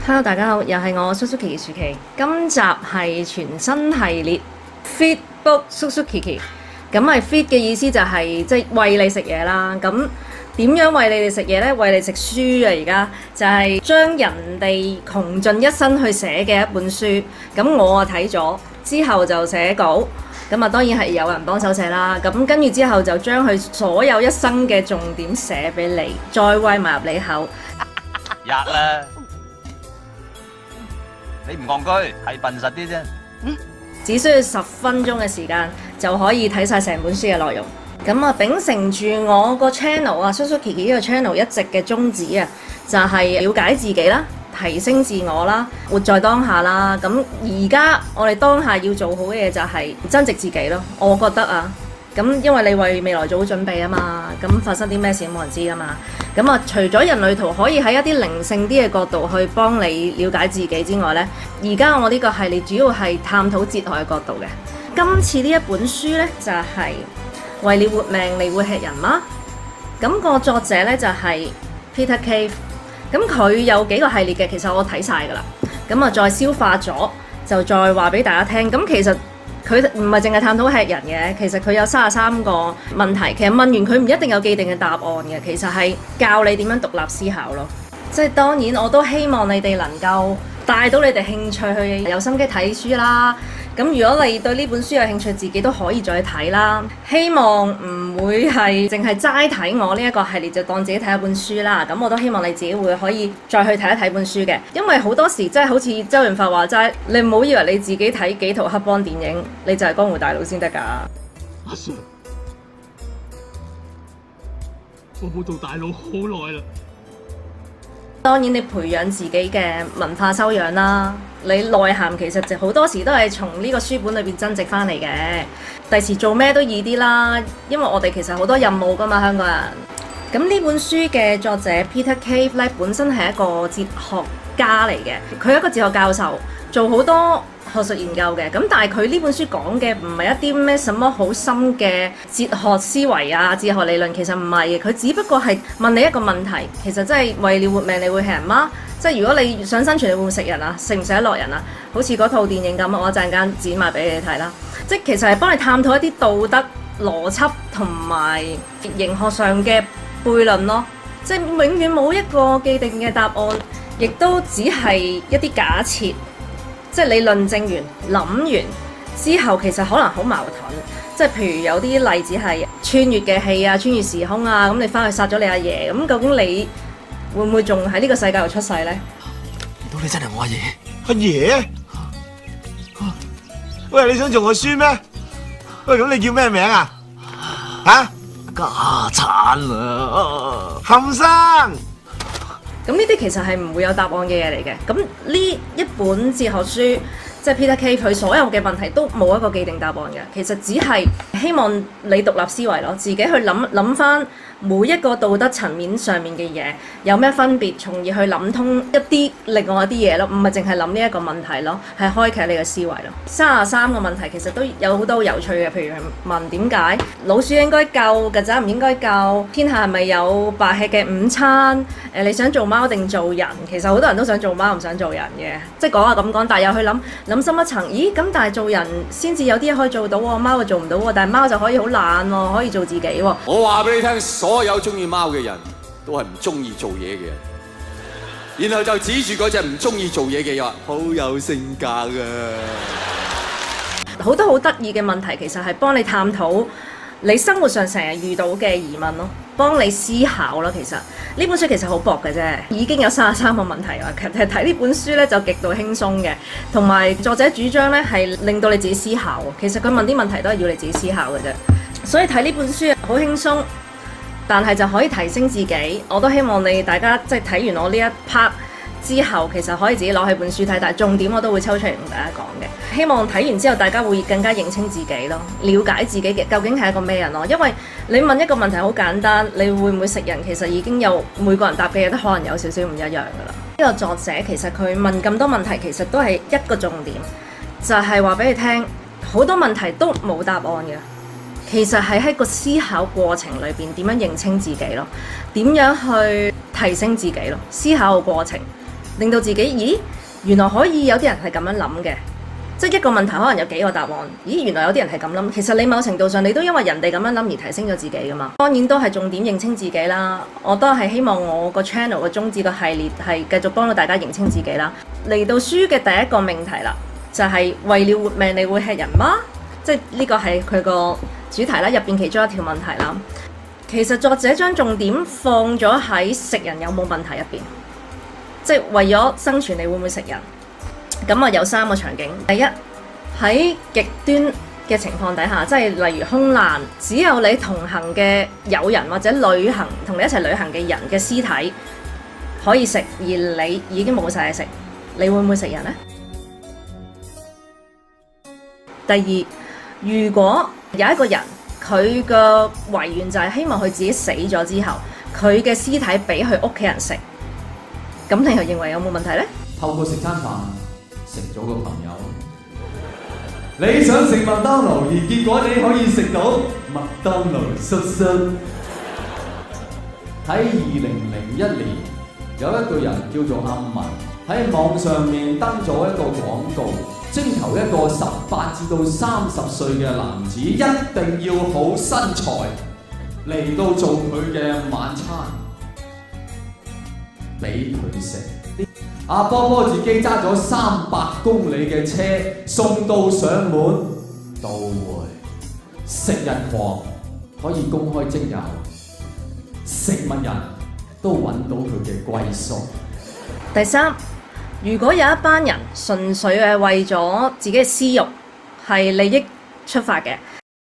Hello， 大家好，又係我 Susukiki 薯琪。今集係全新系列 Feed Book Susukiki。咁係 feed 嘅意思就係即係餵你食嘢啦。咁點樣餵你哋食嘢呢？餵你食書啊！而家就係將人哋窮盡一生去寫嘅一本書。咁我啊睇咗之後就寫稿。咁啊當然係有人幫手寫啦。咁跟住之後就將佢所有一生嘅重點寫俾你，再餵埋入你口。 吔啦！你唔戇居，係笨實啲啫。 只需要10分鐘嘅時間就可以睇晒成本書嘅內容。咁啊，秉承住我個 channel 啊，Susukiki 呢個 channel 一直嘅宗旨啊，就係了解自己啦，提升自我啦，活在當下啦。咁而家我哋當下要做好嘅嘢就係增值自己咯。我覺得啊，咁因為你為未來做好準備啊嘛，咁發生啲咩事冇人知噶嘛。咁啊，除咗人類圖可以喺一啲靈性啲嘅角度去幫你了解自己之外呢，而家我呢個系列主要係探討哲學嘅角度嘅。今次呢一本書呢，就係為了活命你會吃人嗎？咁個作者呢，就係 Peter Cave。咁佢有幾個系列嘅，其實我睇晒噶啦。咁啊，再消化咗就再話俾大家聽。咁其實佢唔係淨係探討吃人嘅，其實佢有33個問題。其實問完佢唔一定有既定嘅答案嘅，其實係教你點樣獨立思考咯。即係當然我都希望你哋能夠帶到你哋興趣去有心機睇書啦。咁如果你對呢本書有興趣，自己都可以再睇啦。希望唔會係淨係齋睇我呢一個系列就當自己睇一本書啦。咁我都希望你自己會可以再去睇一睇本書嘅，因為好多時真係好似周潤發話齋，你唔好以為你自己睇幾套黑幫電影，你就係江湖大佬先得㗎。 阿 Sir， 我冇做大佬好耐啦。 當然你培養自己嘅文化修養啦，你內涵其實就好多時都係從呢個書本裏邊增值翻嚟嘅。第時做咩都易啲啦，因為我哋其實好多任務噶嘛，香港人。咁呢本書嘅作者 Peter Cave 咧，本身係一個哲學家嚟嘅，佢係一個哲學教授，做好多學術研究嘅。咁但係佢呢本書講嘅唔係一啲咩什麼好深嘅哲學思維啊、哲學理論，其實唔係嘅。佢只不過係問你一個問題，其實真係為了活命你會吃人嗎？即係如果你想生存，你會唔會食人啊？食唔食得落人啊？好似嗰套電影咁，我一陣間剪埋俾你睇啦。即係其實係幫你探討一啲道德邏輯同埋形學上嘅悖論咯。即係永遠冇一個既定嘅答案，亦都只係一啲假設。即係你論證完、諗完之後，其實可能好矛盾。即係譬如有啲例子係穿越嘅戲啊、穿越時空啊，咁你翻去殺咗你阿爺，咁究竟你會唔會仲喺呢個世界度出世呢？ 唔到你真係我阿爺？阿爺？喂，你想做我孫咩？喂，咁你叫咩名啊？嚇？家產啊！冚生。 咁呢啲其實係唔會有答案嘅嘢嚟嘅。咁呢一本哲學書，即係 Peter Cave 佢所有嘅問題都冇一個既定答案嘅。其實只係希望你獨立思維咯，自己去諗翻每一個道德層面上面嘅嘢有咩分別，從而去諗通一啲另外一啲嘢咯，唔係淨係諗呢一個問題咯，係開啟你嘅思維咯。33個問題其實都有好多有趣嘅，譬如問點解老鼠應該救，曱甴唔應該救，天下係咪有白吃嘅午餐？你想做貓定做人？其實好多人都想做貓，唔想做人嘅，即係講下咁講，但係又去諗深一層，咦咁但係做人先至有啲嘢可以做到喎，貓就做唔到喎，但係貓就可以好懶喎，可以做自己喎。 我話俾你聽，所有中意貓嘅人都係唔中意做嘢嘅人，然後就指住嗰隻唔中意做嘢嘅人，好有性格㗎。 好多好得意嘅問題，其實係幫你探討你生活上成日遇到嘅疑問咯，幫你思考咯。其實呢本書其實好薄嘅啫，已經有33個問題啦。其實睇呢本書咧就極度輕鬆嘅，同埋作者主張咧係令到你自己思考。其實佢問啲問題都係要你自己思考嘅啫，所以睇呢本書好輕鬆，但係就可以提升自己。我都希望你大家即係睇完我呢一 part 之後，其實可以自己攞起本書睇，但係重點我都會抽出嚟同大家講嘅。希望睇完之後，大家會更加認清自己咯，了解自己嘅究竟係一個咩人咯。因為你問一個問題好簡單，你會唔會食人？其實已經有每個人答嘅嘢都可能有少少唔一樣噶啦。呢個作者其實佢問咁多問題，其實都係一個重點，就係話俾你聽，好多問題都冇答案嘅。其實係喺個思考過程裏邊點樣認清自己咯，點樣去提升自己咯，思考嘅過程。 令到自己，咦，原來可以有啲人係咁樣諗嘅，即係一個問題可能有幾個答案。咦，原來有啲人係咁諗。其實你某程度上你都因為人哋咁樣諗而提升咗自己㗎嘛。當然都係重點認清自己啦。我都係希望我個 channel 嘅宗旨個系列係繼續幫到大家認清自己啦。嚟到書嘅第一個命題啦，就係為了活命你會吃人嗎？即係呢個係佢個主題啦，入邊其中一條問題啦。其實作者將重點放咗喺食人有冇問題入邊，即係為咗生存，你會唔會食人？咁啊有3個場景。第一，喺極端嘅情況底下，即係例如空難，只有你同行嘅友人或者同你一齊旅行嘅人嘅屍體可以食，而你已經冇晒嘢食，你會唔會食人呢？第二，如果有一個人，佢個遺願就係希望佢自己死咗之後，佢嘅屍體俾佢屋企人食，咁你又認為有冇問題呢？ 透過食餐飯食咗個朋友，你想食麥當勞，而結果你可以食到麥當勞叔叔。喺2001年，有一個人叫做阿文喺網上面登咗一個廣告。徵求一個18至到30歲嘅男子，一定要好身材嚟到做佢嘅晚餐，俾佢食。阿波波自己揸咗300公里嘅車送到上門，都會食人狂可以公開徵友，食物人都揾到佢嘅歸宿。 第三，如果有一班人純粹係為咗自己嘅私欲，係利益出發嘅，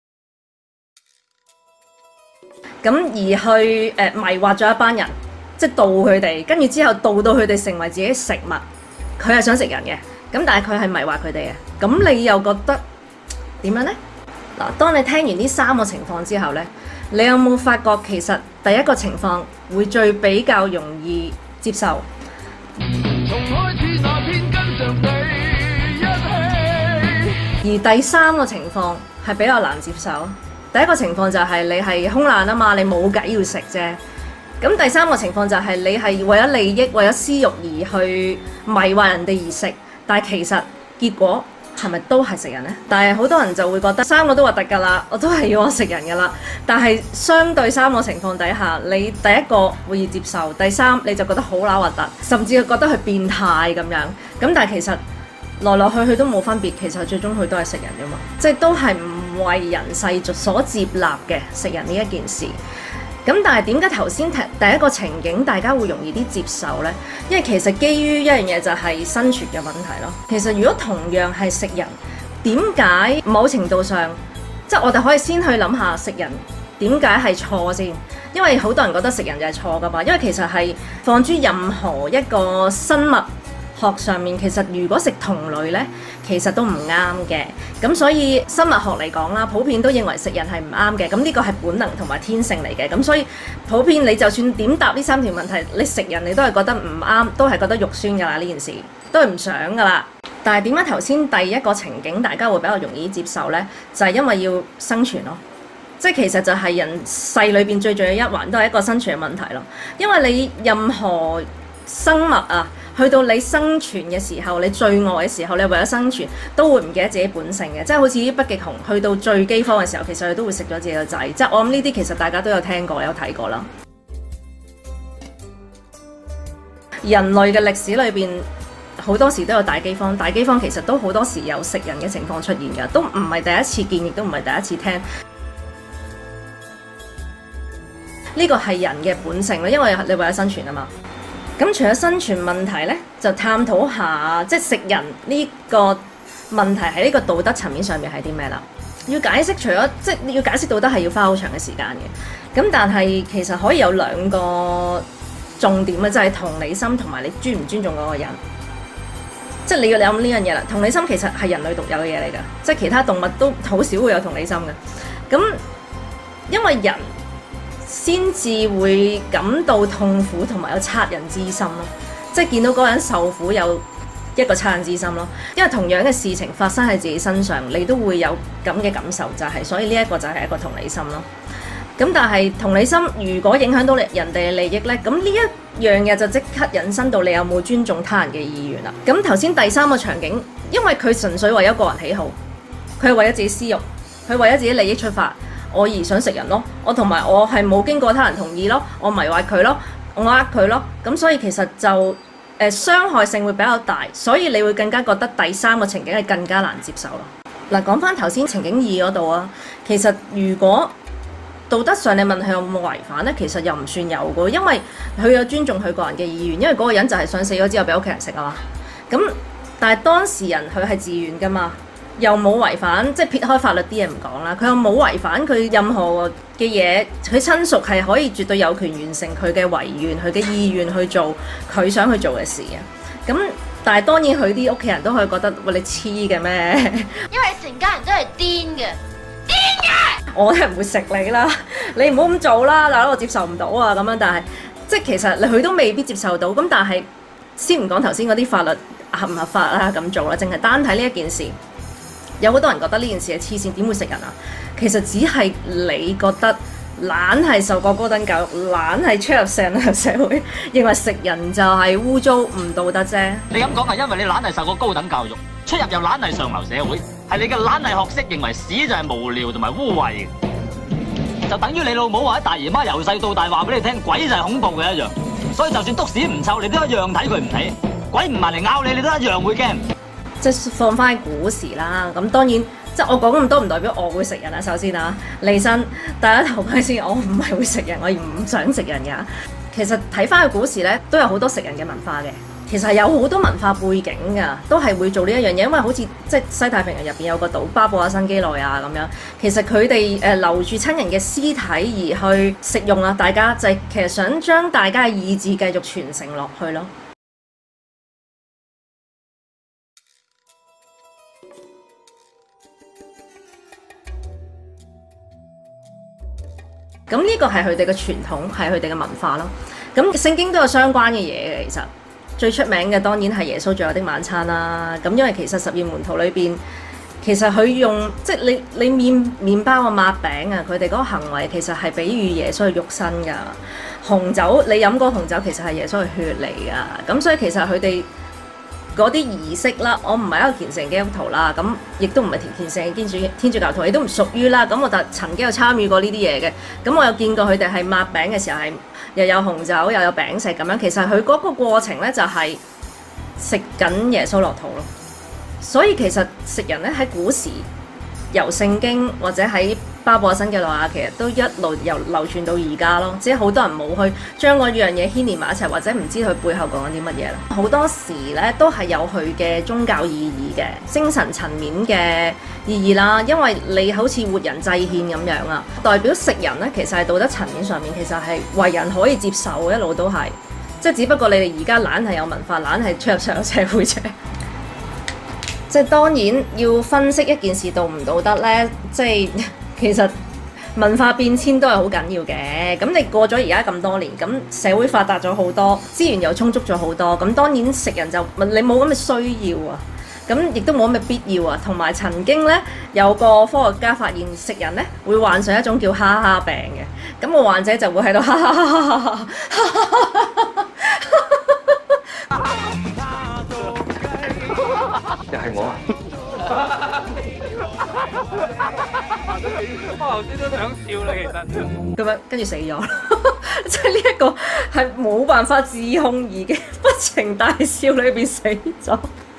咁而去迷惑咗一班人，即係導佢哋，跟住之後導到佢哋成為自己食物，佢係想食人嘅，咁但係佢係迷惑佢哋嘅，咁你又覺得點樣呢？嗱，當你聽完呢3個情況之後呢，你有冇發覺其實第一個情況會最比較容易接受？而第3個情況係比較難接受。第一個情況就係你係空難啊嘛，你冇計要食啫。咁第3個情況就係你係為咗利益、為咗私欲而去迷惑人哋而食，但係其實結果係咪都係食人呢？但係好多人就會覺得3個都核突㗎啦，我都係要我食人㗎啦。但係相對3個情況底下，你第一個會接受，第3你就覺得好乸核突，甚至覺得佢變態咁樣。咁但係其實來來去去都冇分別，其實最終佢都係食人㗎嘛，即係都係唔為人世所接納嘅食人呢一件事。咁但係點解頭先第一個情景大家會容易啲接受呢？因為其實基於一樣嘢就係生存嘅問題咯。其實如果同樣係食人，點解某程度上，即係我哋可以先去諗下食人點解係錯先？因為好多人覺得食人就係錯㗎嘛。因為其實係放諸任何一個生物學上面，其實如果食同類呢，其實都唔啱嘅。咁所以生物學嚟講啦，普遍都認為食人係唔啱嘅。咁呢個係本能同埋天性嚟嘅。咁所以普遍你就算點答呢3條問題，你食人你都係覺得唔啱，都係覺得肉酸㗎啦，呢件事都係唔想㗎啦。但係點解頭先第一個情景大家會比較容易接受呢？就係因為要生存咯。即係其實就係人世裏邊最重要一環，都係一個生存嘅問題咯。因為你任何生物啊，去到你生存嘅時候，你最餓嘅時候，你為咗生存都會唔記得自己本性嘅，即係好似啲北極熊去到最饑荒嘅時候，其實佢都會食咗自己個仔。即係我諗呢啲其實大家都有聽過有睇過啦。人類嘅歷史裏邊好多時都有大饑荒，大饑荒其實都好多時有食人嘅情況出現㗎，都唔係第一次見，亦都唔係第一次聽。呢個係人嘅本性啦，因為你為咗生存啊嘛。咁除咗生存問題呢，就探討下即係食人呢個問題喺呢個道德層面上面係啲咩啦？要解釋除咗即係要解釋道德係要花好長嘅時間嘅。咁但係其實可以有2個重點嘅，就係同理心同埋你尊唔尊重嗰個人。即係你要諗呢樣嘢啦。同理心其實係人類獨有嘅嘢嚟㗎，即係其他動物都好少會有同理心嘅。咁因為人先至會感到痛苦同埋有惻隱之心咯，即係見到嗰個人受苦有一個惻隱之心咯。因為同樣嘅事情發生喺自己身上，你都會有咁嘅感受，就係所以呢一個就係一個同理心咯。 咁但係同理心如果影響到人哋嘅利益呢，咁呢一樣嘢就即刻引申到你有冇尊重他人嘅意願啦。咁頭先第三個場景，因為佢純粹為咗個人喜好，佢係為咗自己私欲，佢為咗自己利益出發，我而想食人咯，我同埋我係冇經過他人同意咯，我迷惑佢咯，我呃佢咯，咁所以其實就傷害性會比較大，所以你會更加覺得第三個情景係更加難接受咯。嗱，講翻頭先情景二嗰度啊，其實如果道德上你問佢有冇違反呢？其實又唔算有嘅，因為佢有尊重佢個人嘅意願，因為嗰個人就係想死咗之後俾屋企人食啊嘛。咁但係當事人佢係自願噶嘛，又冇違反，即係撇開法律啲嘢唔講啦，佢又冇違反佢任何嘅嘢，佢親屬係可以絕對有權完成佢嘅遺願、佢嘅意願去做佢想去做嘅事啊。咁但係當然佢啲屋企人都可以覺得喂，你黐嘅咩？ 因為成家人都係癲嘅。 我係唔會食你啦，你唔好咁做啦，大佬我接受唔到啊咁樣。但係即係其實佢都未必接受到。咁但係先唔講頭先嗰啲法律合唔合法啦咁做啦，淨係單睇呢一件事，有好多人覺得呢件事係黐線，點會食人啊？其實只係你覺得懶係受過高等教育，懶係出入社會，認為食人就係污糟唔道德啫。 你咁講係因為你懶係受過高等教育，出入又懶係上流社會，係你嘅懶係學識認為屎就係無聊同埋污穢嘅，就等於你老母或者大姨媽由細到大話俾你聽鬼就係恐怖嘅一樣。所以就算篤屎唔臭，你都一樣睇佢唔起，鬼唔埋嚟咬你，你都一樣會驚。 即係放翻古時啦，咁當然即係我講咁多唔代表我會食人啊。首先啊，利申大家頭盔先，我唔係會食人，我而唔想食人㗎。其實睇翻個古時咧，都有好多食人嘅文化嘅。其實有好多文化背景㗎，都係會做呢一樣嘢，因為好似即係西太平洋入邊有個島巴布亞新幾內亞咁樣，其實佢哋留住親人嘅屍體而去食用啊，大家就係其實想將大家嘅意志繼續傳承落去咯。咁呢個係佢哋嘅傳統，係佢哋嘅文化咯。咁聖經都有相關嘅嘢嘅，其實最出名嘅當然係耶穌最後的晚餐啦。咁因為其實12門徒裏邊，其實佢用即係你麵包啊、抹餅啊，佢哋嗰個行為其實係比喻耶穌嘅肉身㗎。紅酒你飲嗰紅酒其實係耶穌嘅血嚟㗎。咁所以其實佢哋嗰啲儀式啦，我唔係一個虔誠基督徒啦，咁亦都唔係虔誠嘅天主教徒，亦都唔屬於啦。咁我就曾經有參與過呢啲嘢嘅，咁我有見過佢哋係抹餅嘅時候係又有紅酒又有餅食咁樣。其實佢嗰個過程咧就係食緊耶穌落肚咯。所以其實食人咧喺古時由聖經或者喺巴布亞新幾內亞，其實都一路由流傳到而家咯。只係好多人冇去將嗰樣嘢牽連埋一齊，或者唔知佢背後講緊啲乜嘢啦。好多時咧都係有佢嘅宗教意義嘅、精神層面嘅意義啦。因為你好似活人祭獻咁樣啊，代表食人咧其實係道德層面上面其實係為人可以接受，一路都係。即係只不過你哋而家懶係有文化，懶係出入上流社會啫。即係當然要分析一件事道唔道德咧，即係其實文化變遷都係好緊要嘅。咁你過咗而家咁多年，咁社會發達咗好多，資源又充足咗好多，咁當然食人就你冇咁嘅需要啊，咁亦都冇咁嘅必要啊。同埋曾經咧有個科學家發現食人咧會患上一種叫哈哈病嘅，咁個患者就會喺度哈哈哈哈哈哈。 又係我啊！ 我頭先都想笑啦，其實咁樣跟住死咗，即係呢一個係冇辦法自控而嘅不情大笑裏邊死咗。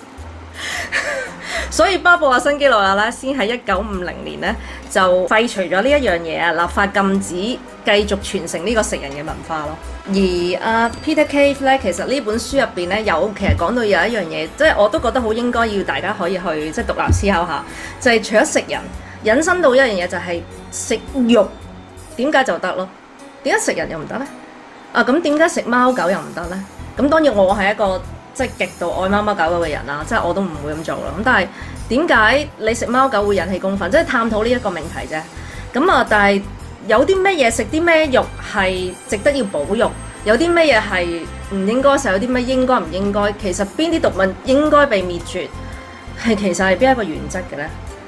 所以巴布亞新幾內亞咧，先喺1950年咧就廢除咗呢一樣嘢啊，立法禁止繼續傳承呢個食人嘅文化咯。而Peter Cave 咧，其實呢本書入邊咧有其實講到有一樣嘢，即係我都覺得好應該要大家可以去即係獨立思考下，就係除咗食人，引申到一樣嘢就係食肉，點解就得咯？點解食人又唔得咧？咁點解食貓狗又唔得咧？咁當然我係一個即係極度愛貓貓狗狗嘅人啦，即係我都唔會咁做啦。咁但係點解你食貓狗會引起公憤？即係探討呢一個命題啫。咁但係有啲咩嘢食啲咩肉係值得要保育？有啲咩嘢係唔應該食？有啲咩應該唔應該？其實邊啲動物應該被滅絕？係其實係邊一個原則嘅咧？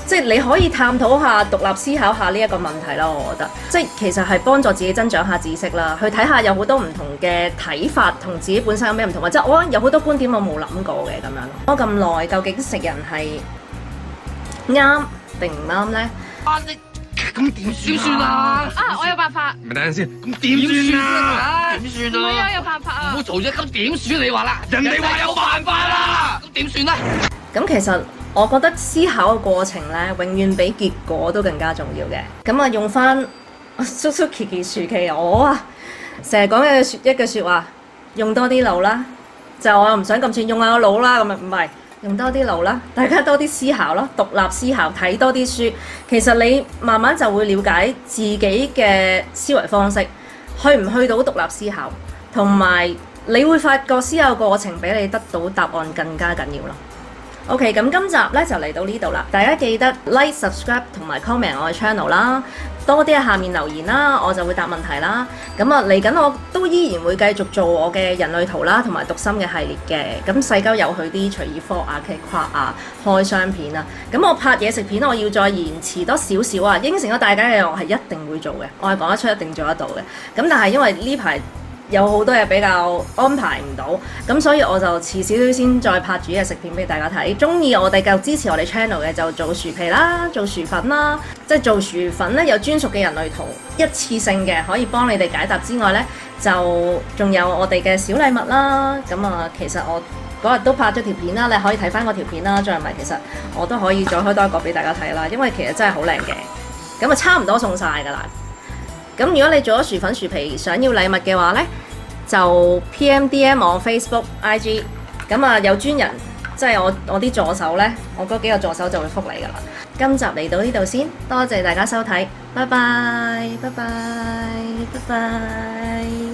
即係你可以探討下、獨立思考下呢一個問題咯。我覺得即係其實係幫助自己增長下知識啦，去睇下有好多唔同嘅睇法同自己本身有咩唔同，或者我有好多觀點我冇諗過嘅咁樣。我咁耐究竟食人係啱定唔啱咧？ 咁點算啊？ 我有辦法。 咪等陣先，咁點算啊？點算啊？ 唔係啊，有辦法啊！ 唔好嘈啫，咁點算？你話啦，人哋話有辦法啦，咁點算咧？ 咁其實我覺得思考嘅過程咧，永遠比結果都更加重要嘅。咁啊，用翻叔叔琪琪薯琪我啊，成日講嘅一句説話，用多啲腦啦。就我又唔想咁串，用下個腦啦，咁啊唔係。用多啲腦啦，大家多啲思考咯，獨立思考，睇多啲書。其實你慢慢就會了解自己嘅思維方式，去唔去到獨立思考，同埋你會發覺思考過程比你得到答案更加緊要咯。OK， 咁今集咧就嚟到呢度啦，大家記得 like、subscribe 同埋 comment 我嘅 channel 啦，多啲喺下面留言啦，我就會答問題啦。咁啊嚟緊我都依然會繼續做我嘅人類圖啦，同埋讀心嘅系列嘅。咁細鳩有佢啲隨意科啊、劇跨啊、開箱片啊。咁我拍嘢食片我要再延遲多少少啊，應承咗大家嘅我係一定會做嘅，我係講得出一定做得到嘅。咁但係因為呢排有好多嘢比較安排唔到，咁所以我就遲少少先再拍煮嘢食片俾大家睇。中意我哋繼續支持我哋 channel 嘅就做薯皮啦，做薯粉啦，即係做薯粉咧有專屬嘅人類圖，一次性嘅可以幫你哋解答之外咧，就仲有我哋嘅小禮物啦。咁啊，其實我嗰日都拍咗條片啦，你可以睇翻嗰條片啦。再唔係，其實我都可以再開多一個俾大家睇啦，因為其實真係好靚嘅。咁啊，差唔多送晒㗎啦。咁如果你做咗薯粉薯皮想要禮物嘅話呢，就 PM 我 Facebook IG， 咁啊有專人即係我啲助手呢，我嗰幾個助手就會覆你噶啦。今集嚟到呢度先，多謝大家收睇，拜拜，拜拜，拜拜。